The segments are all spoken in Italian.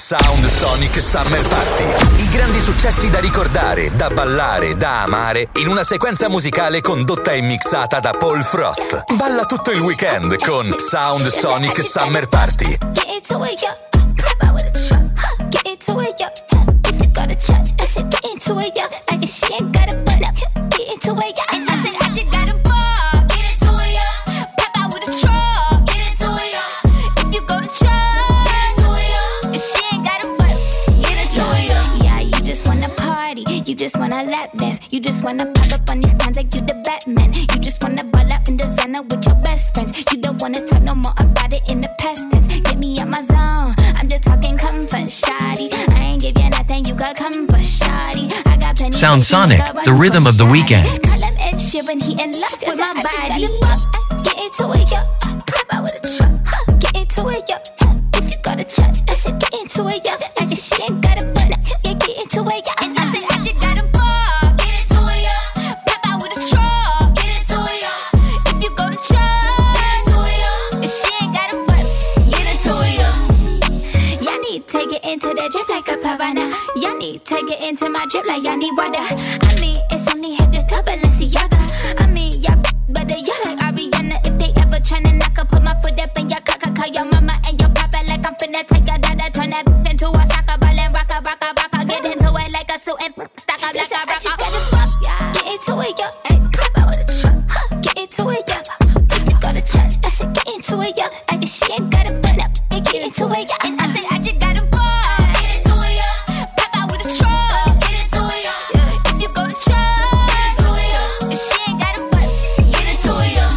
Sound Sonic Summer Party. I grandi successi da ricordare, da ballare, da amare, in una sequenza musicale condotta e mixata da Paul Frost. Balla tutto il weekend con Sound Sonic Summer Party. Get into it, yo. Pop out with a truck. Get into it, yo. If you go to church, I said get into it, yo. I guess she ain't got a butt up. Get into it, yo. And I said I just got a ball. Get into it, yo. Pop out with a truck. Get into it, yo. If you go to church, get into it, yo. If she ain't got a butt, get into it, yo. Yeah, you just wanna party. You just wanna lap dance. You just wanna pop up on these cons like you the Batman. You just wanna ball up in designer with your best friends. You don't wanna talk no more about it in the past tense. Get me out my zone. I'm just talking comfort, shoddy. I ain't give you nothing, you got comfort, shoddy. I got plenty. Sound Sonic, the rhythm of the weekend. Call him Ed Sheeran, he in love with my body. Get into it, yo. Pop out with a truck. Get into it, yo. If you go to church, I said get into it, yo. I just she ain't got a butt. Yeah, get into it, yo. And I said I just got a ball. Get into it, yo. Pop out with a truck. Get into it, yo. If you go to church, get into it, yo. If she ain't got a butt, get into it, yo. Y'all need to take it into the drip like a piranha. Y'all need to get into my drip like y'all need water. I mean, it's only head to toe, Balenciaga. I mean, y'all better y'all like Ariana. If they ever tryna knock, I put my foot up in your cocker. Call your mama and your papa like I'm finna take a dada. Turn that into a soccer ball and rock a. Get into it like a suit and stack up like a rocker. Get into it, yo. Pop out with a truck. Get into it, yo. If you go to church, I said get into it, yo. I guess she ain't got a butt up. Get into it, yo. And I said I just got a ball. Get into it, yo. Pop out with a truck. Get into it, yo. If you go to church, get into it, yo. If she ain't got a butt, get into it, yo.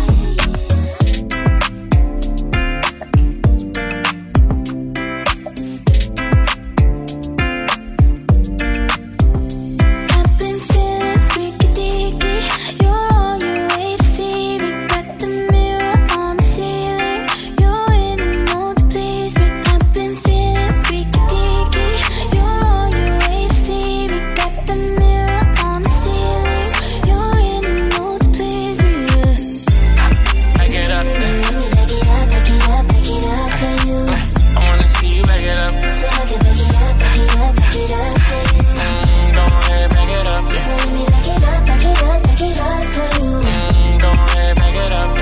I've been feeling freaky deaky. You're on your way to see me. Got the mirror on the ceiling. You're in the mood to please me. I've been feeling freaky deaky. You're on your way to see me. Got the mirror on the ceiling. You're in the mood to please me. Back it up, Back it up, back it up, back it up for you. I wanna see you back it up. So I can back it up, back it up, back it up for you. Go ahead, back it up. So let me back it up, back it up, back it up for you. Go ahead, back it up.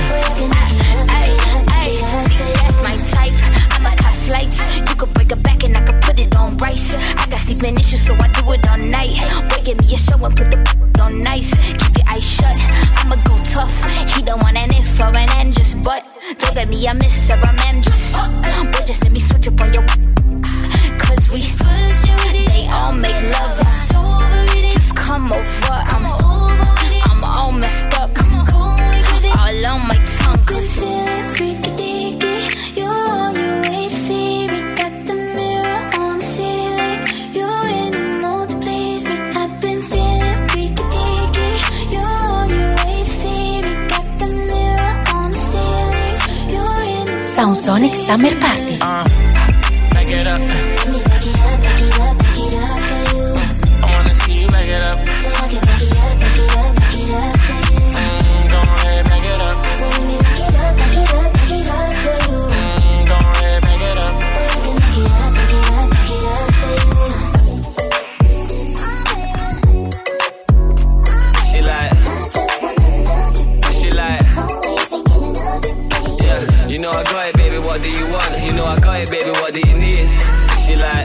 See, that's my type. I'ma cut flights. You could break it back and I could put it on rice. I got sleeping issues, so I do it all night. Boy, give me a show and put the on nice. Keep your eyes shut. I'ma go tough. He don't want an if or an end, just but. Don't get me a miss or a mem, just. Boy, just let me switch up on your. Cause we first they all make love. Just come over. I'm all messed up. All on my tongue. Cause freaky deaky. You're on your way to see me. Got the mirror on the ceiling. You're in the mood to please me. I've been feeling freaky deaky. You're on your way to see me. Got the mirror on the ceiling. You're in the mood. Sound Sonic Summer Party. Back it up. Back it up, back it up, back it up for you. I wanna see you back it up. So I can back it up, back it up, back it up for you. Go ahead, back it up. So let me back it up, back it up, back it up for you. Go ahead, back it up. I can back it up, back it up, back it up for you. She like, yeah. You know I got it, baby. What do you want? You know I got it, baby. What do you need? She like,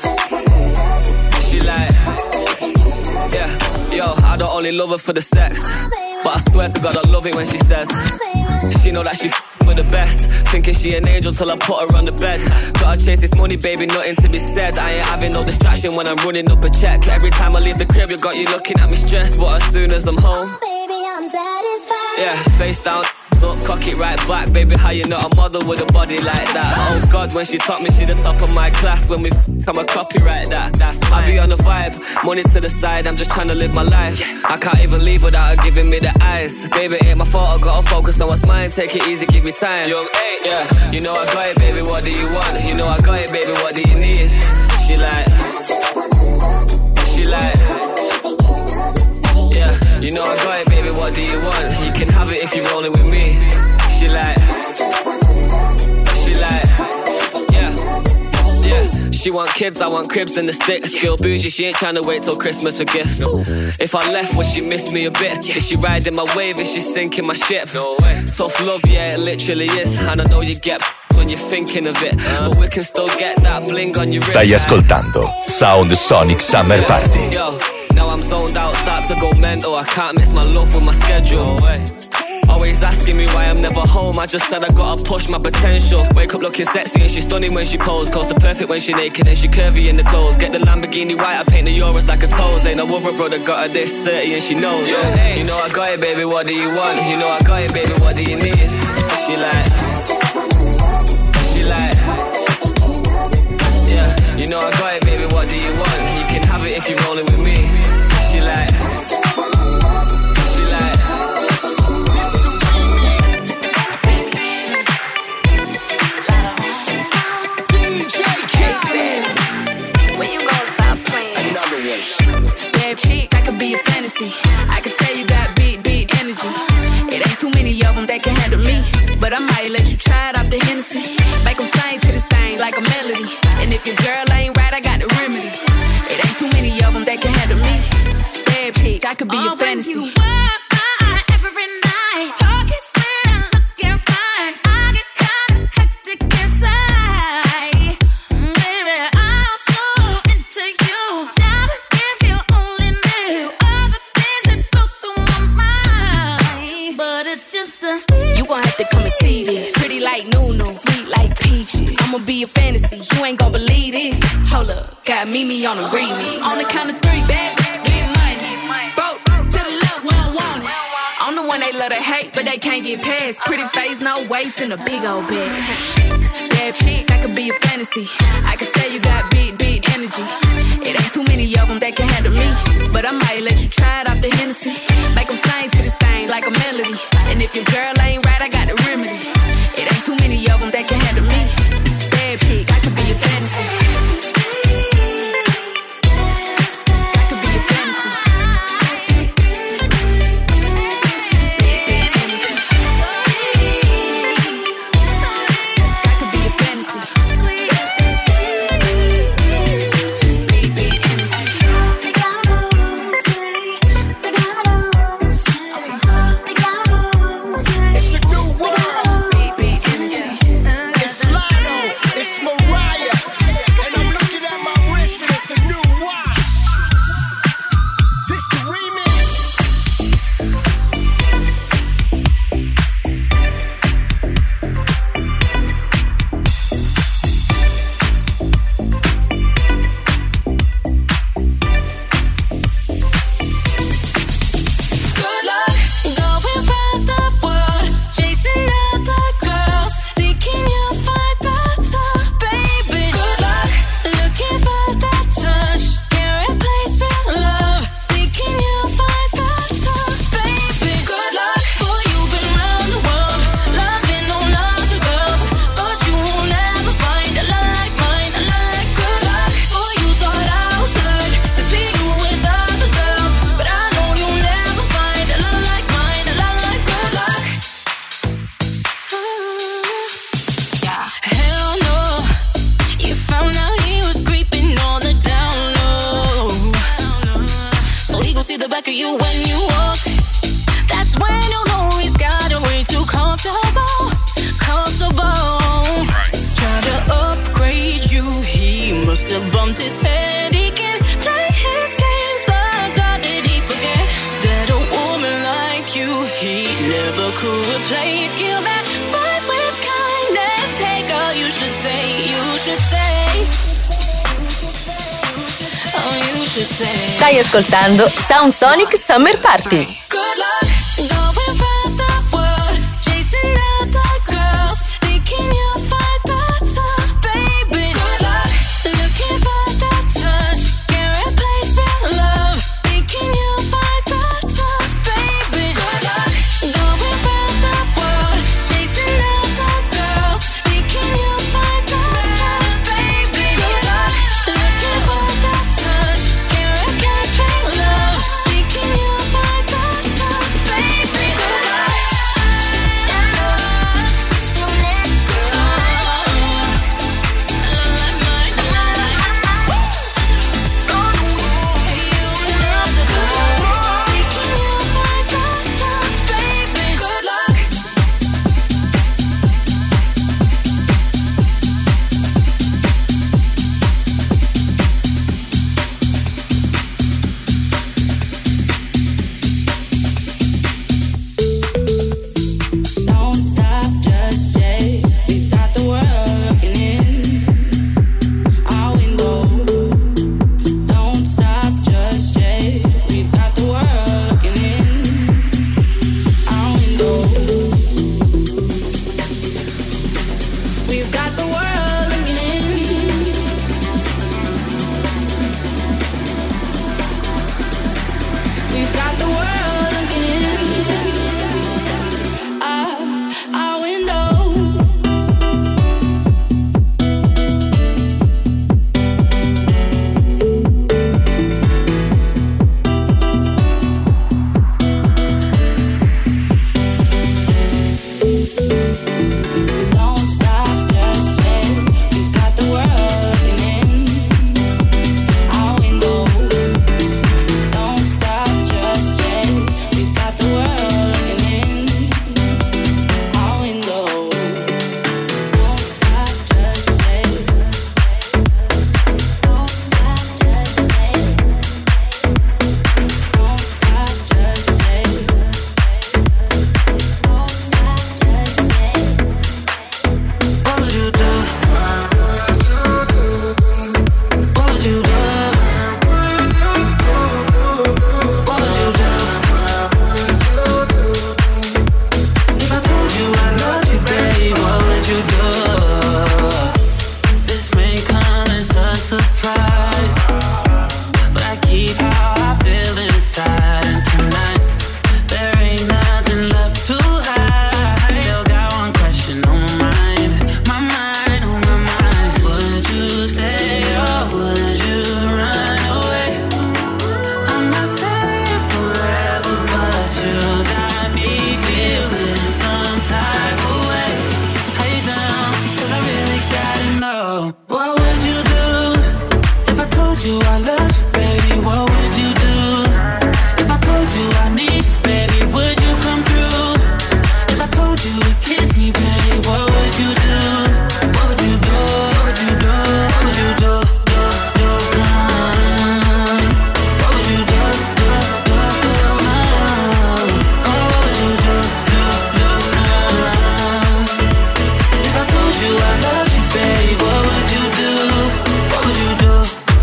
yeah. Yo, I don't only love her for the sex, but I swear to God I love it when she says she know that she with the best. Thinking she an angel till I put her on the bed. Gotta chase this money, baby, nothing to be said. I ain't having no distraction when I'm running up a check. Every time I leave the crib, you got you looking at me stressed. But as soon as I'm home, Baby, I'm satisfied. yeah, face down, up, cock it right back. Baby, how you not a mother with a body like that? Oh God, when she taught me, she the top of my class. When we come a copyright that. That's I be on the vibe, money to the side. I'm just trying to live my life. I can't even leave without her giving me the eyes. Baby, ain't my fault, I gotta focus on what's mine. Take it easy, give me time. Young eight, yeah. You know I got it, baby, what do you want? You know I got it, baby, what do you need? She like, yeah. You know I got it, baby, what do you want? You can have it if you're rolling with me. She like, yeah. She want kids, I want cribs and the sticks. Still bougie, she ain't tryna wait till Christmas for gifts. If I left, would she miss me a bit? Is she riding my wave? Is she sinking my ship? No way. Tough love, yeah, it literally is. And I know you get when you're thinking of it, but we can still get that bling on your wrist. Stai ascoltando Sound Sonic Summer Party. Yo, now I'm zoned out, start to go mental. I can't mix my love with my schedule. Always asking me why I'm never home. I just said I gotta push my potential. Wake up looking sexy and she's stunning when she pose. Close to perfect when she naked and she curvy in the clothes. Get the Lamborghini white, I paint the Euros like a toes. Ain't no other brother got her this 30 and she knows. You know I got it, baby, what do you want? You know I got it, baby, what do you need? She like, yeah, you know I got it, baby, what do you want? You can have it if you're rolling with me. She like, I can tell you got big energy. It ain't too many of them that can handle me, but I might let you try it off the Hennessy. Make them sing to this thing like a melody. And if your girl ain't right, I got the remedy. It ain't too many of them that can handle me. Bad chick, I could be your fantasy. When you walk every night, talking sweet, looking fine, I get kinda hectic inside. Baby, I'm so into you. Darling, if you only knew all the things that flow through my mind. But it's just a You gon' have to come and see this. Pretty like Nunu, sweet like peaches. I'ma be a fantasy, you ain't gon' believe this. Hold up, got Mimi on the remix. On the count of 3, back, get money. Broke to the left, we don't want it. I'm the one they love to hate, but they can't get past. Pretty face, no waist, and a big old bag. Bad chick, I could be a fantasy. I could tell you got big energy. It ain't too many of them that can handle me, but I might let you try it off the Hennessy. Make them sing to this thing like a melody. And if your girl ain't right, I got the remedy. It ain't too many of them that can handle me. Bad chick, I could be a fantasy. I could be a fantasy. I could be a fantasy. It's a new world. It's Lotto. It's Mariah. And I'm looking at my wrist and it's a new watch. This the remix. good luck going round the world, chasing other girls, thinking you'll find better, baby. Good luck looking for that touch, can't replace real love, thinking you'll find better, baby. Good luck, boy, you've been round the world, loving on other girls, but you won't ever find a love like mine, a love like good luck. Boy, you thought I was good to see you with other girls, but I know you'll never find a love like mine, a love like good luck. Yeah. Hell no, you found out he was creeping on the down low, so he gon' see the back of you when you walk. That's when you'll know he's got it way too comfortable. Try to upgrade you, he must have bumped his head. He can play his games, but God, did he forget that a woman like you he never could replace? Kill that fight with kindness. Hey girl, you should say, oh, you should say. Stai ascoltando Sound Sonic Summer Party. Good luck going round the world, chasing other girls, thinking you'll find better, baby. Good luck looking for that touch, can't replace real love, thinking you'll find better, baby. Good luck going round the world, chasing other girls, thinking you'll find better, baby. Good luck looking for that touch, can't replace real love, thinking you'll find better, baby. you I loved you, baby, what would you do? If I told you I need you, baby, would you come through? If I told you to kiss me, baby, what would you do? What would you do? What would you do? What would you do? What would you do? If I told you I love you, baby, what would you do? What would you do?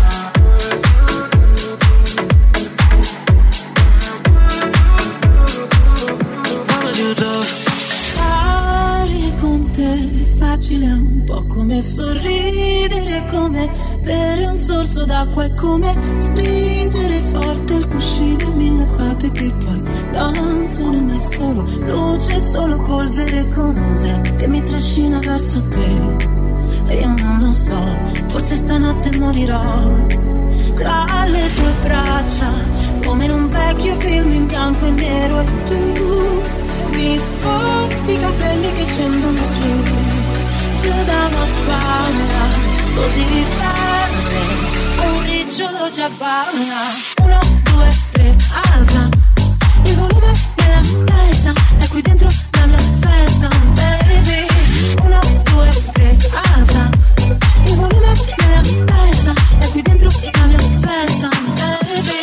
What would you do? Stare con te è facile, un po' come sorridere, come bere un sorso d'acqua, è come stringere forte il cuscino, mille fate che poi danzano, ma è solo luce, solo polvere, cos'è che mi trascina verso te? E io non lo so, forse stanotte morirò tra le tue braccia, come in un vecchio film in bianco e nero, e tu mi sposti i capelli che scendono giù da una spalla, così bene, un ricciolo già balla. 1, 2, 3, alza il volume nella testa, è qui dentro la mia festa, baby. 1, 2, 3, alza il volume nella testa, è qui dentro la mia festa, baby.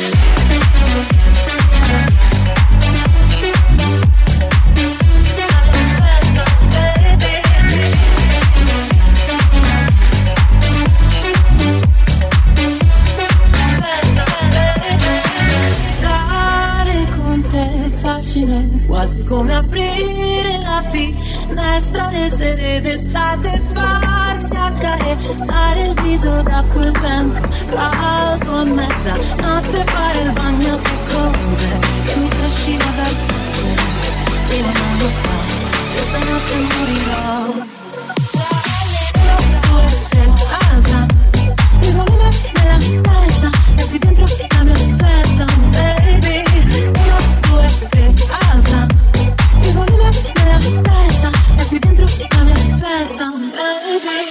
Quasi come aprire la finestra e sere d'estate, farsi accarezzare il viso da quel vento caldo a mezzanotte, fare il bagno, che cose che mi trascina verso te. Io non lo so se stanotte morirò. 1, 2, 3, alza il volume nella testa, e qui dentro la mia festa, baby. 1, 2, 3, alza il volume nella testa, e qui dentro la mia festa, baby.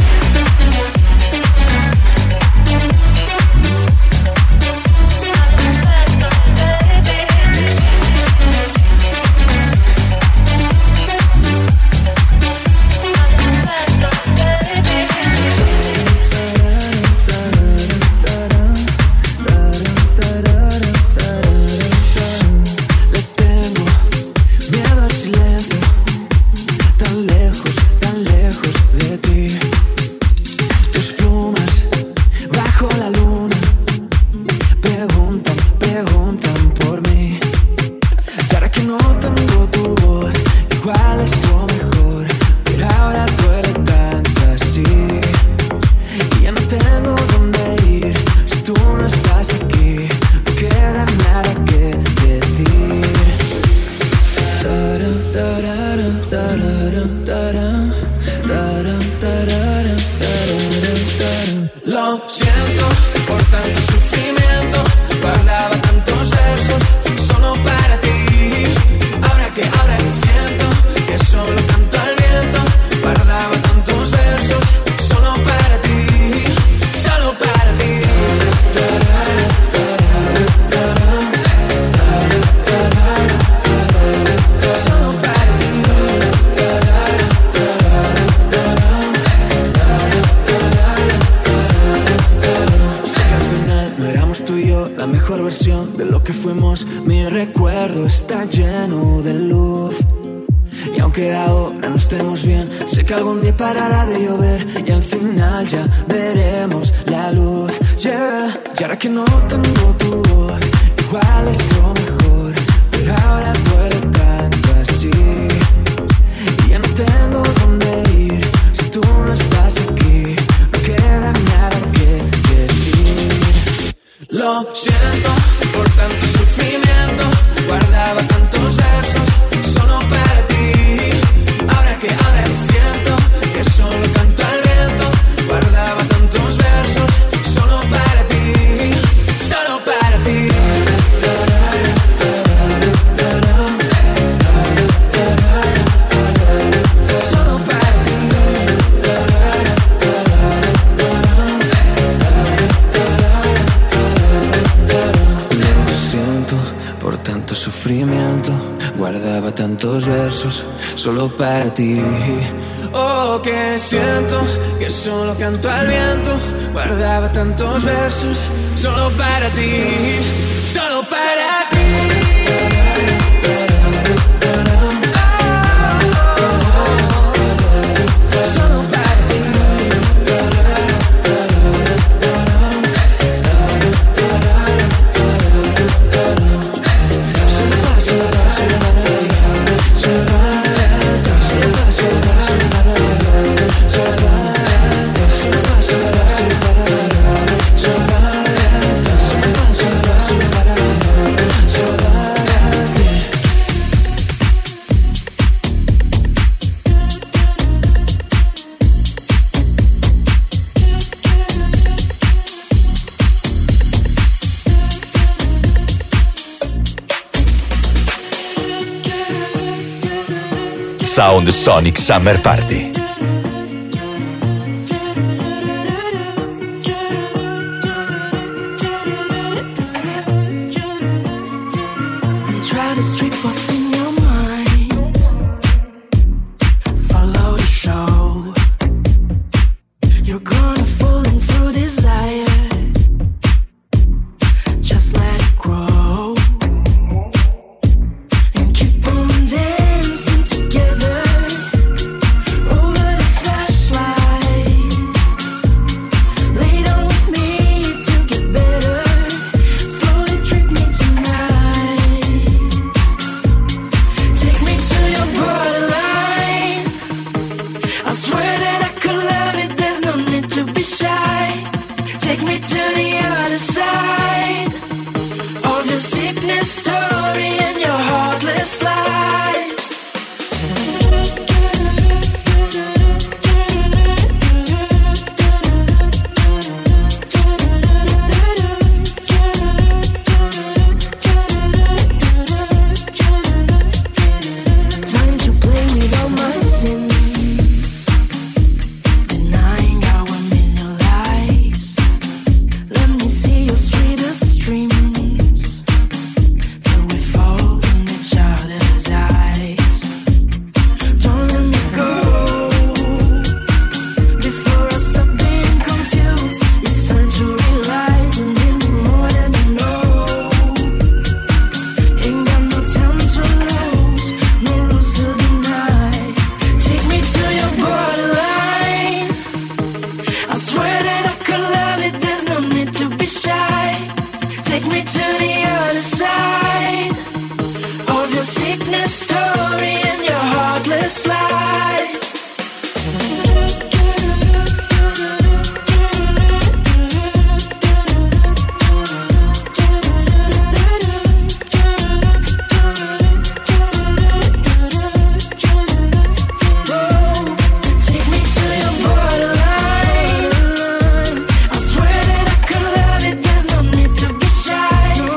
Lo siento por tanto sufrimiento, guardaba tantos versos solo para ti. Ahora que siento que solo canto al viento, guardaba tantos versos solo para ti, solo para ti. Solo para ti. Sé que al final no éramos tú y yo la mejor versión de lo que fuimos. Mi recuerdo está lleno de luz. Y aunque ahora no estemos bien, sé que algún día parará de llover y al final ya veremos la luz. Yeah. Y ahora que no tengo tu voz, igual es lo mejor, pero ahora duele tanto así. Y ya no tengo dónde ir si tú no estás aquí. No queda nada que decir. Lo siento por tanto sufrimiento, guardaba tantos versos solo para ti. Ahora siento que solo canto al viento, guardaba tantos versos solo para ti, solo para ti. Solo para ti. sufrimiento. Guardaba tantos versos solo para ti. Oh, que siento que solo canto al viento. Guardaba tantos versos solo para ti. Solo para ti. Solo para ti. Sound Sonic Summer Party. Try to strip what's in your mind. Follow the show. You're gonna fall in through desire. Just let it grow. And keep on dancing together over the flashlight. Lay down with me to get better. Slowly trick me tonight. Take me to your borderline. I swear that I could love it, there's no need to be shy. Take me to the other side of your sickness story and your heartless life. Time to play with all my sins, denying our million lies. Let me see your sweetest dreams till we fall in each other's eyes. Don't let me go before I stop being confused. It's time to realize you need me more than you know. Ain't got no time to lose, no rules to deny. Take me to your borderline. I swear that I could love it, there's no need to be shy. Take me to the other side of your sickness story and your heartless life. Take me to your borderline. I swear that I could love it, there's no need to be shy. No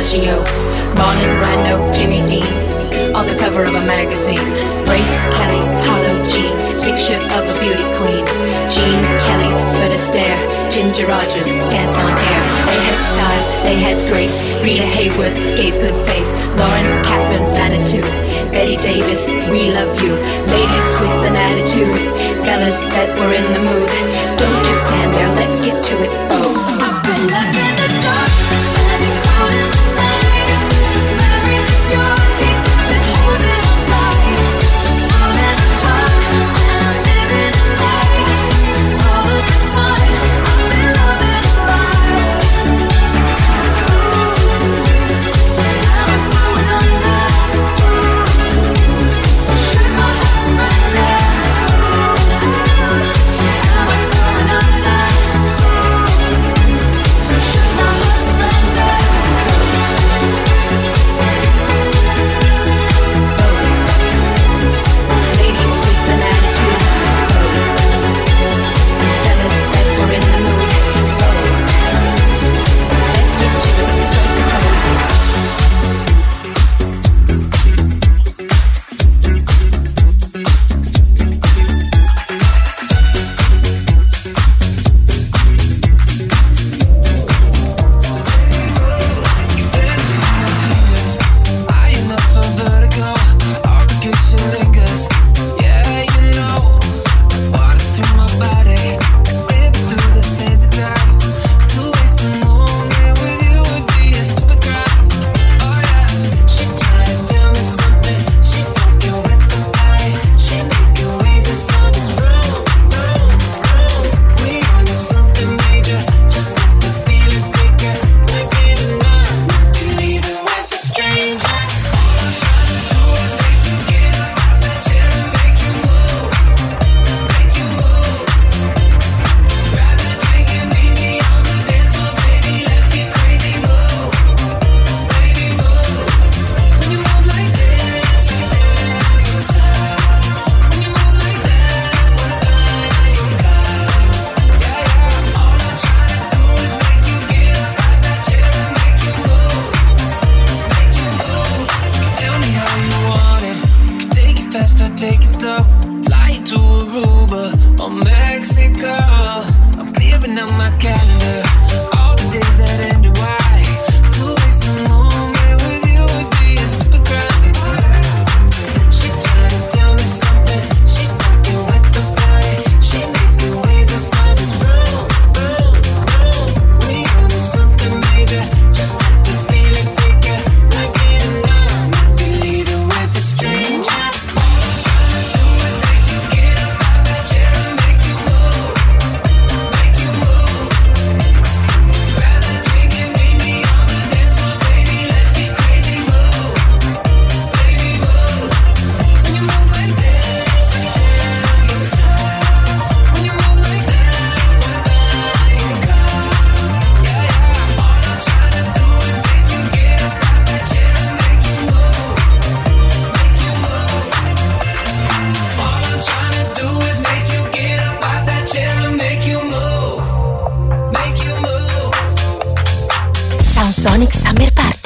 Bellagio, Marlon Brando, Jimmy Dean, on the cover of a magazine. Grace Kelly, Hollow G, picture of a beauty queen. Jean Kelly, Fred Astaire, Ginger Rogers, dance on air. They had style, they had grace. Rita Hayworth gave good face. Lauren Catherine Manitou, Betty Davis, we love you. Ladies with an attitude, fellas that were in the mood. Don't just stand there, let's get to it. Oh, I've been left in the dark, standing cold in the night. Memories of your taste, I've been holding on tight. Falling apart, and I'm living a lie. All of this time, I've been loving a lie. Ooh, now I'm going under. Ooh, should my heart surrender? Ooh, now I'm going under. Ooh, should my heart surrender? Ladies with an attitude, fellas that were in the mood. Let's get to it, strike the High enough for vertigo, obligation lingers. Yeah, you know, water through my body, live through the sands of time. To waste a moment with you would be a stupid crime. Oh yeah, she tried to tell me something. She broke you with the lie. She make you waves and saw this wrong, wrong, wrong. We on to something major. Just let the feeling take her. Like it or not, you leave it with a stranger. Tell me how you want it. Can take it fast or take it slow. Fly to Aruba or Mexico. I'm clearing out my calendar. All the days that end in Y. To waste a moment with you would be a stupid crime. She tried to tell me something. She took you with the body. She make you waves inside this room, room, room. We on to something major. Just let the feeling take her. Like it or not, you leave it with a stranger. Sound Sonic Summer Party.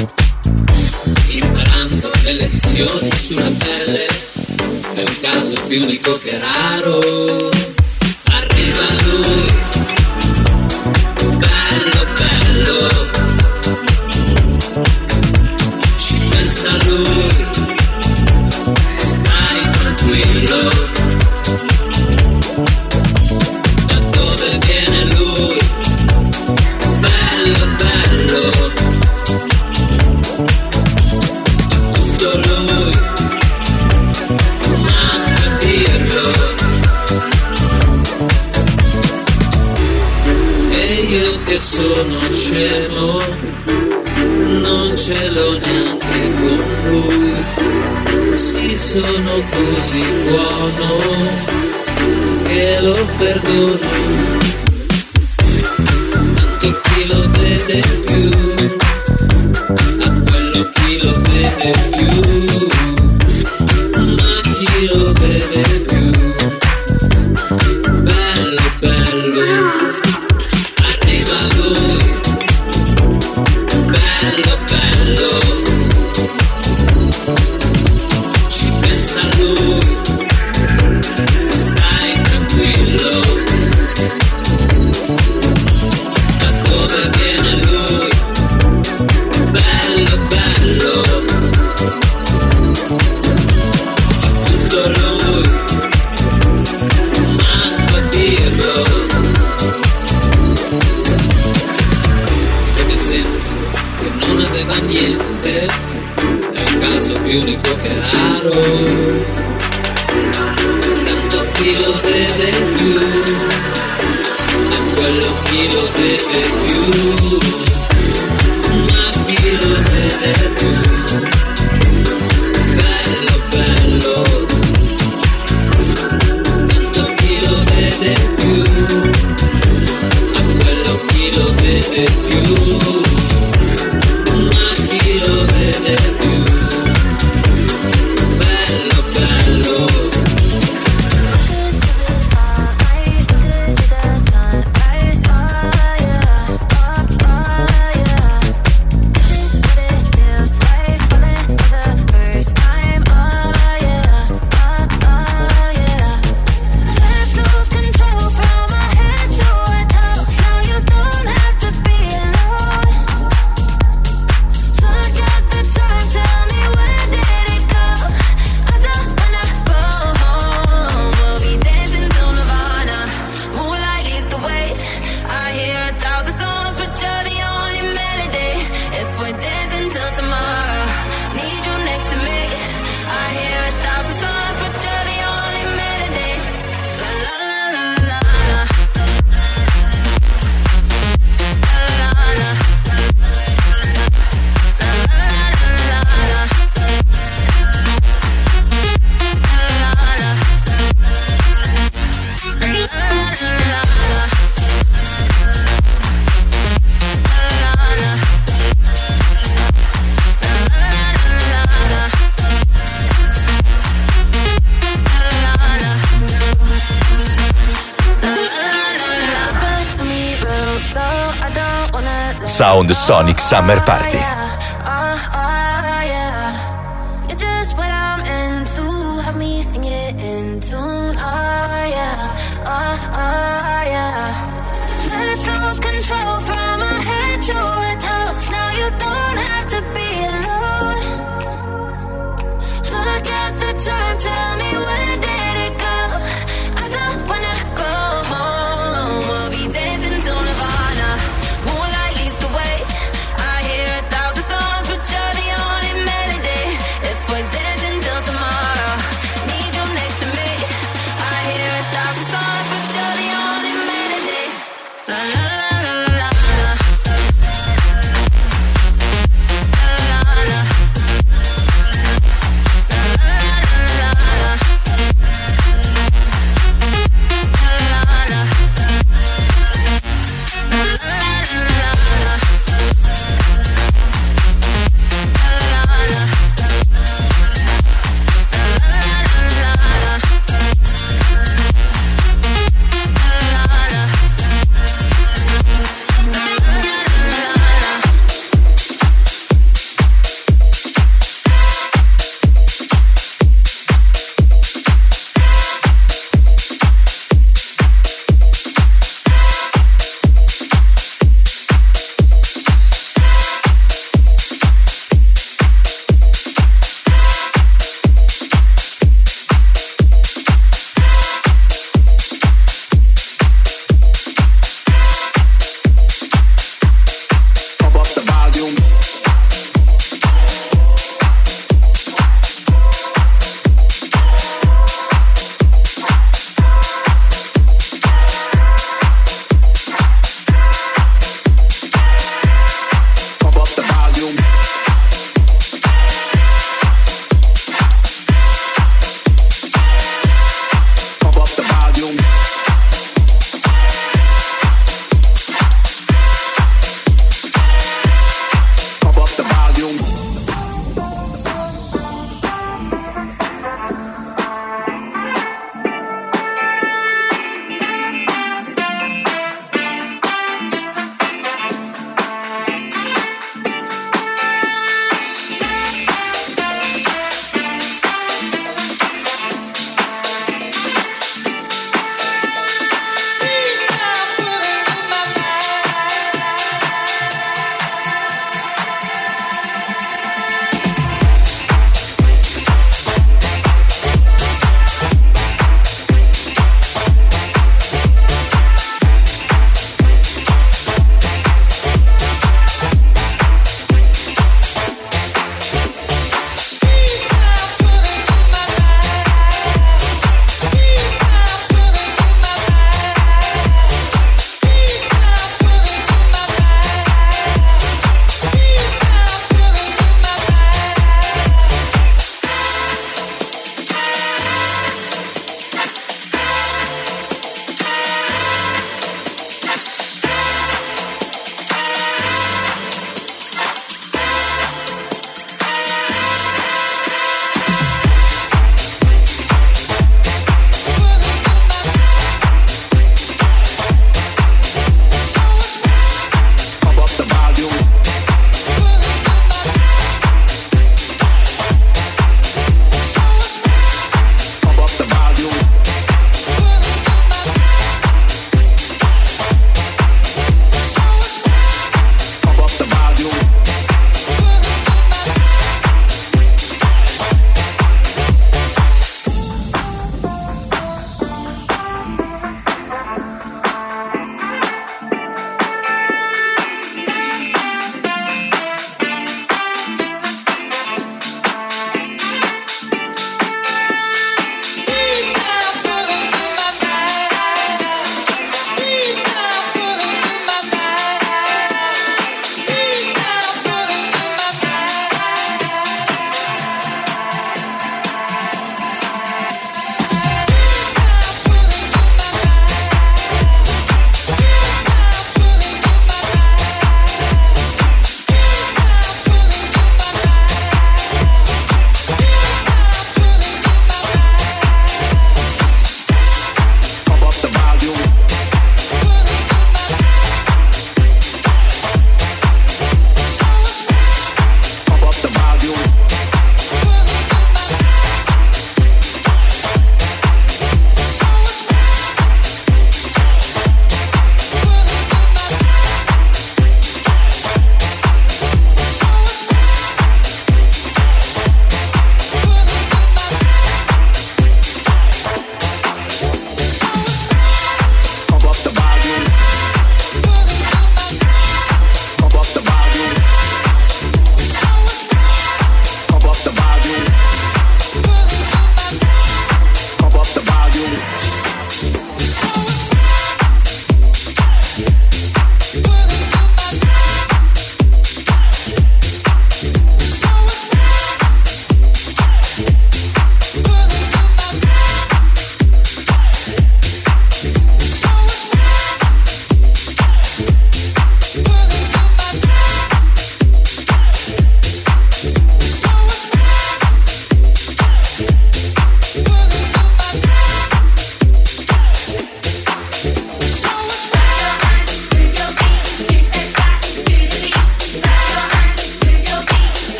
Sulla pelle, è un caso più unico che raro. Arriva lui, bello bello, ci pensa lui, stai tranquillo. Da dove viene lui, bello bello, tutto lui, manca a dirlo. E io che sono scemo, non ce l'ho neanche con lui. Sì, sono così buono che lo perdono. Tanto chi lo vede più, a quello chi lo vede più, ma chi lo vede più, bello bello. Arriva lui, bello bello, ci pensa lui, stai tranquillo. Da dove viene lui, bello bello, tutto lui, manco a dirlo. Perché sembra che non aveva niente, è un caso più unico che raro. Tanto chi lo vede più, a quello chi lo vede più, ma chi lo vede più, bello bello. Tanto chi lo vede più, a quello chi lo vede più, ma chi lo vede più, bello bello. Sound Sonic Summer Party. You're just what I'm into. Have me sing it in tune. Oh yeah, oh yeah. Let's lose control from my head to a toe. Now you don't have to be alone. Look at the time, tell me where did it go? I don't wanna go home. We'll be dancing till Nirvana. Moonlight leads the way. I hear 1,000 songs, but you're the only melody. If we're dancing till tomorrow, need you next to me. I hear 1,000 songs, but you're the only melody. La la la la la la.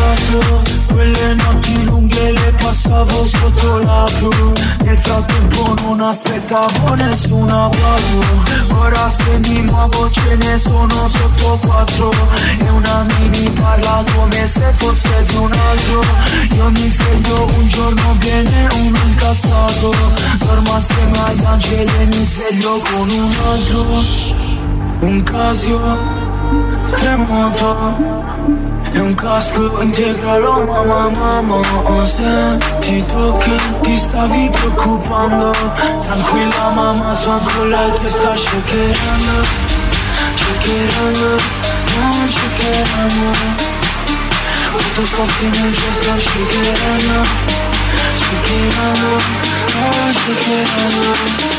fatto, quelle notti lunghe le passavo sotto la blu. Nel frattempo non aspettavo nessuna auto. Ora se mi muovo ce ne sono sotto 4. E una mi parla come se fosse di un altro. Io mi sveglio un giorno viene uno incazzato. Dormo assieme agli angeli e mi sveglio con un altro. Un Casio, tremoto e un casco integralo, mamma. Se ti tocchi ti stavi preoccupando. Tranquilla mamma, sono con lei che sta shakerando. Non shakerando. Quanto sto finendo sto shakerando. Non shakerando.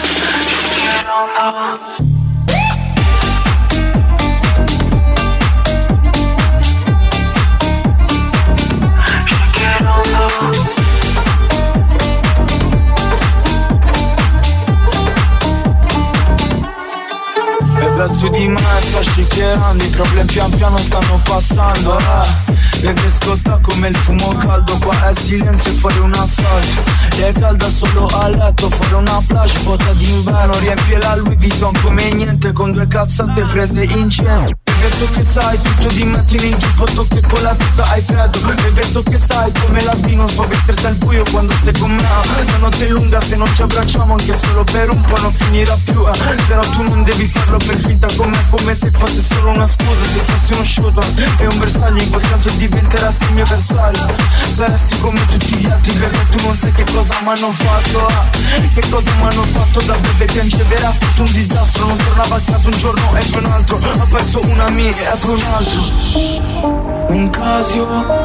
Su di me sta shakerando, i problemi pian piano stanno passando. Beve scotta come il fumo caldo, qua è silenzio e fuori un assalto. Lei è calda solo a letto, fuori una plage vuota d'inverno. Riempie la Louis Vuitton come niente, con 2 cazzate prese in cielo. Bebe so che sai tutto di me, tieni il giubbotto che con la tuta hai freddo. Bebe so che sai come l'albino può metterti al buio quando sei con me. La notte è lunga, se non ci abbracciamo anche solo per un po' non finirà più. Però tu non devi farlo per finta con me, come se fosse solo una scusa. Se fossi uno shooter e un bersaglio, in quel caso diventerassi il mio avversario. Saresti come tutti gli altri, bebe, tu non sai che cosa m'hanno fatto. Che cosa m'hanno fatto da bebe, piangeva, tutto un disastro. Non tornava a casa un giorno e poi un altro. Ho perso una mia e poi un altro. Un Casio,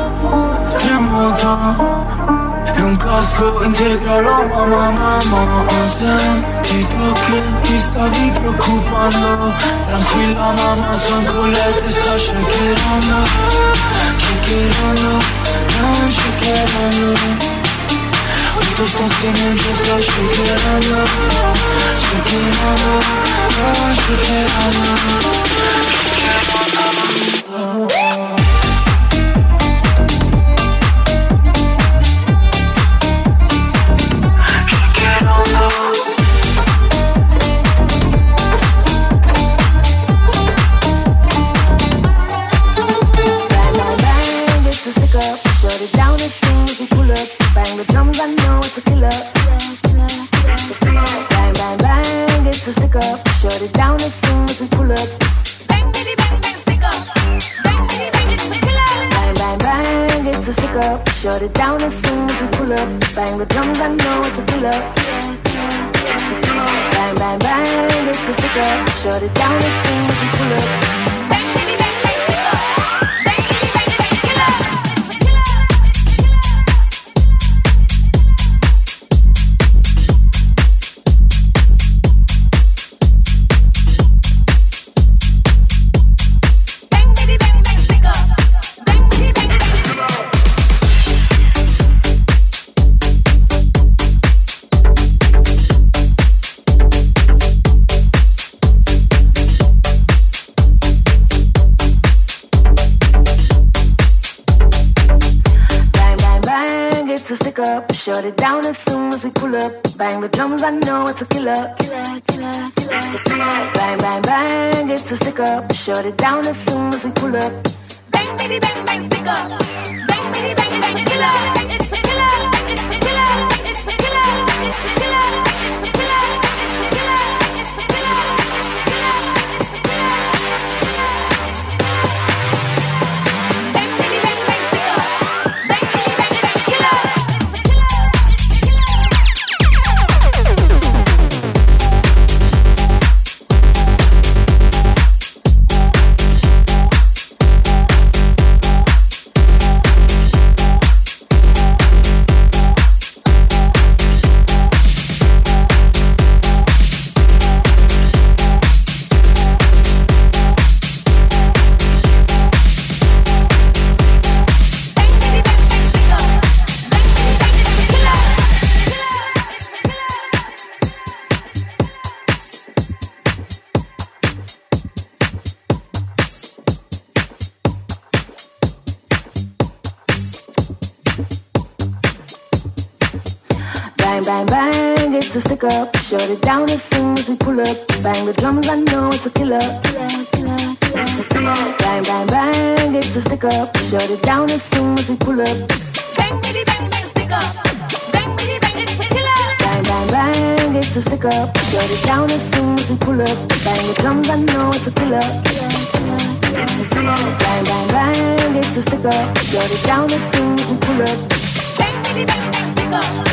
tremoto e un casco integralo, mamma. Se ti tocchi ti stavi preoccupando. Tranquilla mamma, sono con lei che sta shakerando. Non shakerando. Quanto sto tenendo sto shakerando. Non shakerando. Shut it down as soon as we pull up. Bang the drums, I know it's a killer. Bang, bang, bang, it's a stick up. Shut it down as soon as we pull up. Bang, bitty, bang, bang, stick up. Bang, bitty, bang, it's a killer. Bang, bang, bang, it's a stick up. Shut it down as soon as we pull up. Bang the drums, I know it's a killer. Bang, bang, bang, it's a stick up. Shut it down as soon as we pull up. Bang, bitty, bang, bang, stick up. Shut it down as soon as we pull up. Bang the drums, I know it's a killer. Bang, bang, bang, it's a stick up. Shut it down as soon as we pull up. Bang, bitty, bang, bang, stick up. Bang, bitty, bang, it's a killer. It's a killer. It's a killer. It's a killer. It's a killer. It's a killer. It's a killer. It's a killer. Bang, bitty, bang, bang, stick up. Bang, bitty, bang, it's a killer. bang, it's a stick up. Shut it down as soon as we pull up. Bang the drums, I know it's a killer. It's a killer. Bang, bang, bang, it's a stick up. Shut it down as soon as we pull up. Bang, bitty, bang, bang, stick up. Bang, bitty, bang, it's a killer. Bang, bang, bang, it's a stick up. Shut it down as soon as we pull up. Bang the drums, I know it's a killer. It's a killer. Bang, bang, bang, it's a stick up. Shut it down as soon as we pull up. Bang, bitty, bang, bang, stick up.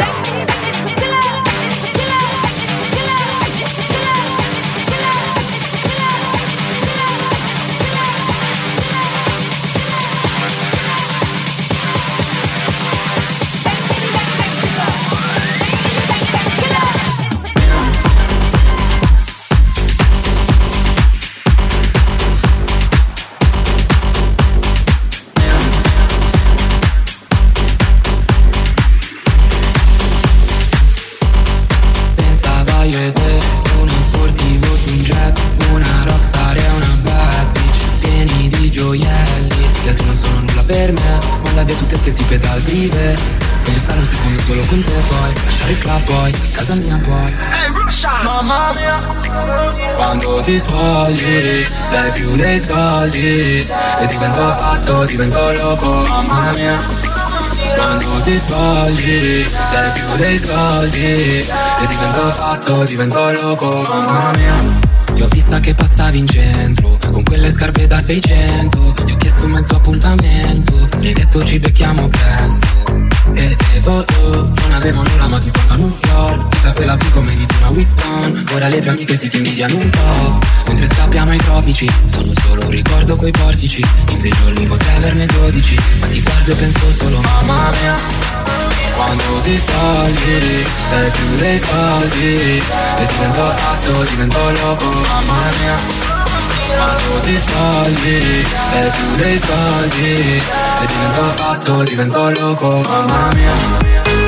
Tipe dal vive. Voglio stare un secondo solo con te, poi lasciare il club, poi casa mia, poi mamma mia, quando ti svogli stai più dei soldi e divento pazzo, divento loco, mamma mia. Quando ti svogli stai più dei soldi e divento pazzo, divento loco, mamma mia. Ti ho vista che passavi in centro con quelle scarpe da 600. Ti ho chiesto un mezzo appuntamento, mi hai detto ci becchiamo presto. Non avevo nulla ma ti porto a New York. Tutta quella più come di una Whitton. Ora le tue amiche si ti invidiano un po'. Mentre scappiamo ai tropici, sono solo un ricordo coi portici. In 6 giorni potrei averne 12, ma ti guardo e penso solo mamma mia. Quando ti svogli stai più dei soldi e divento pazzo, divento loco, mamma mia. Quando ti svogli stai più dei soldi e divento pazzo, divento loco, mamma mia.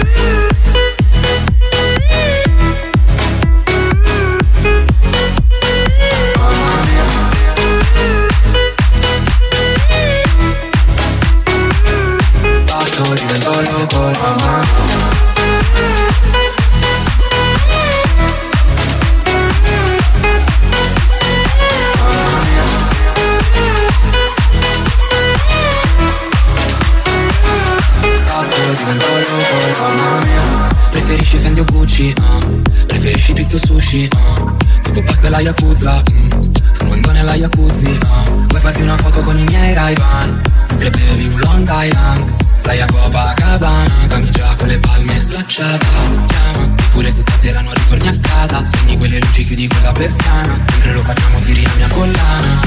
Divento loco, mamma. Divento loco, mamma mia. Preferisci Fendi o Gucci, preferisci pizza o sushi, tipo pasta e la Yakuza, fumando nella Jacuzzi, vuoi farti una foto con i miei Ray-Ban, mentre bevi un Long Island. Playa Copacabana, camicia con le palme slacciata. Chiama, pure questa sera non ritorni a casa. Spegni quelle luci, chiudi quella persiana. Mentre lo facciamo tiri la mia collana.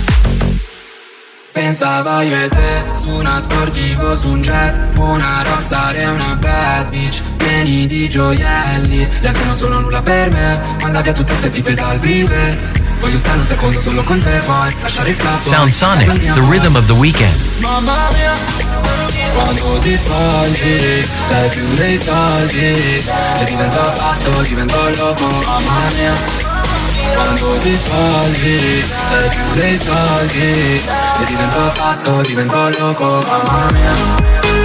Pensava io e te, su una sportivo, su un jet. Una rockstar e una bad bitch, pieni di gioielli. Le altre non sono nulla per me, manda via tutte ste tipe dal vive. Voglio stare un secondo solo con te, poi lasciare il club. Sound Sonic, the rhythm of the weekend. Mamma mia. Quando ti svogli stai più dei soldi e divento pazzo, divento loco, mamma mia. Quando ti svogli stai più dei soldi e divento pazzo, divento loco, mamma mia.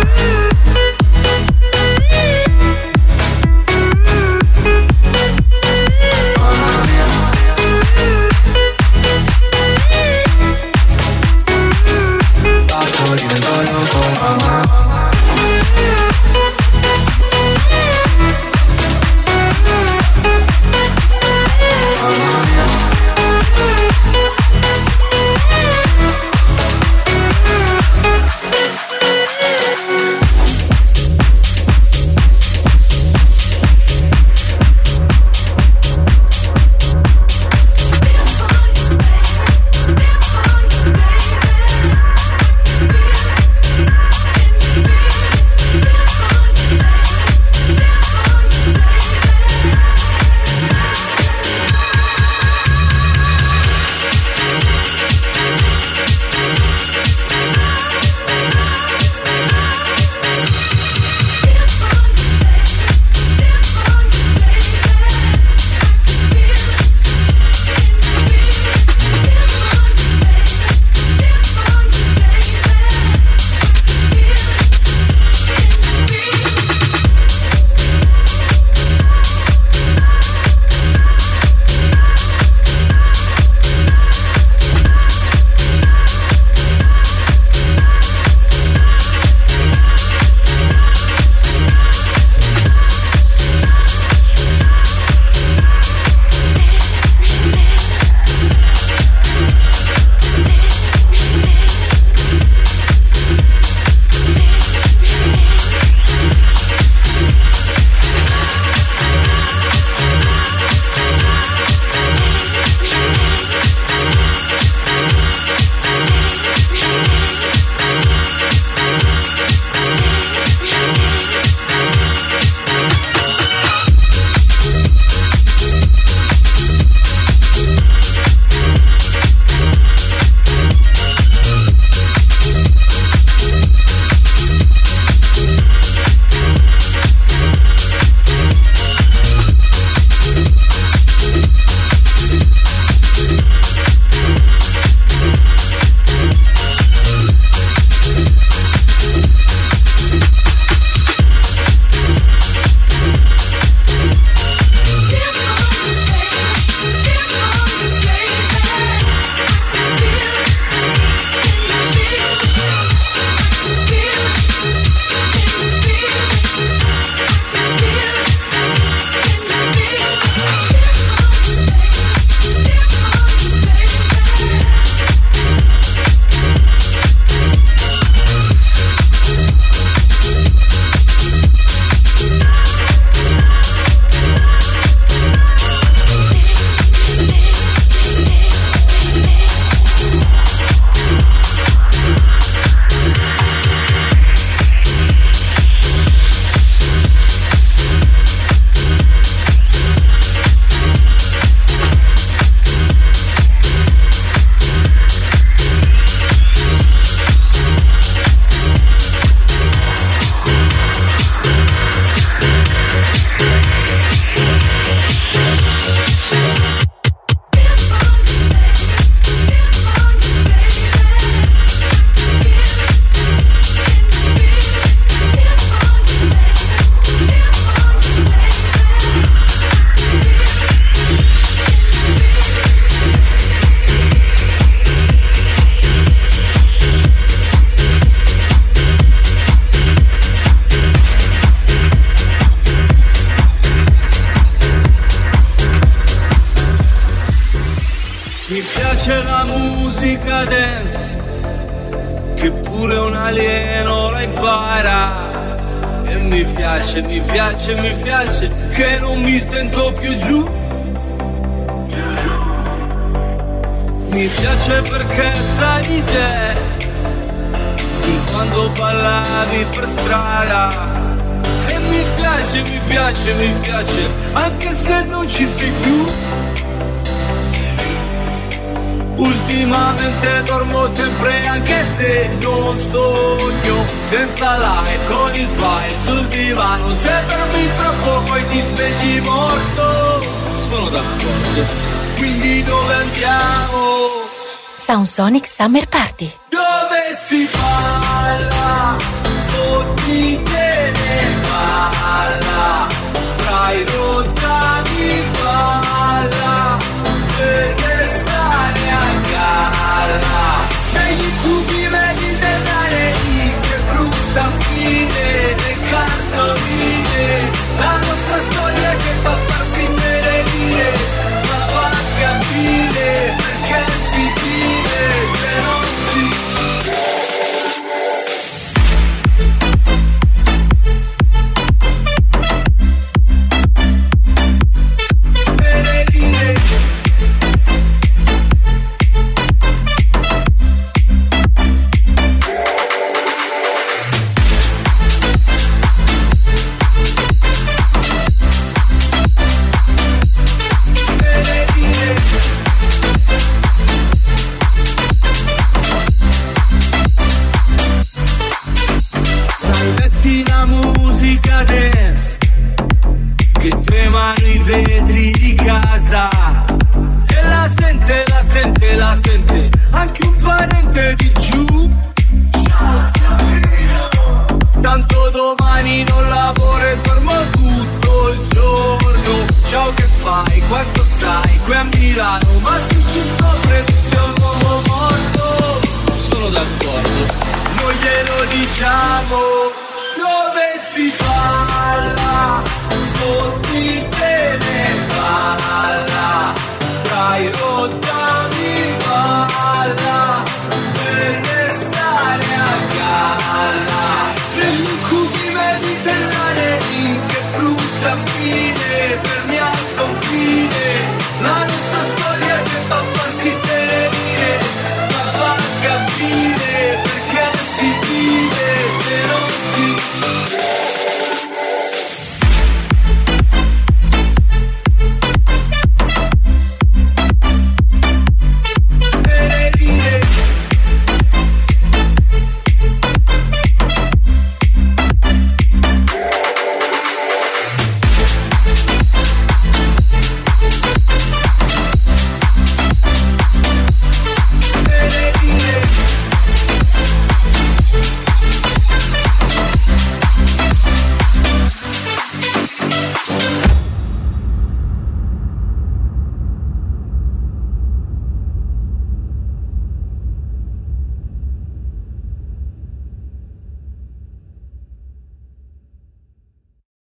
Divento loco, mamma. Mi piace la musica dance, che pure un alieno la impara. E mi piace che non mi sento più giù. Mi piace perché sai di te, di quando ballavi per strada. E mi piace, anche se non ci sei più. Ultimamente dormo sempre anche se non sogno, senza like con il file sul divano. Se dormi troppo poi ti svegli morto. Sono d'accordo, quindi dove andiamo? Sound Sonic Summer Party. Dove si balla, fotti te ne balla, tra i rottami balla, per restare a galla. Negli incubi mediterranei, che brutta fine, le cartoline, la nostra storia che fa farsi innerire, ma va a capire perché si vive se non si. La sente anche un parente di giù. Tanto domani non lavoro e dormo tutto il giorno. Ciao, che fai? Quanto stai? Qui a Milano, ma se ci scopre tu sei un uomo morto. Sono d'accordo, noi glielo diciamo. Dove si parla, fotti te ne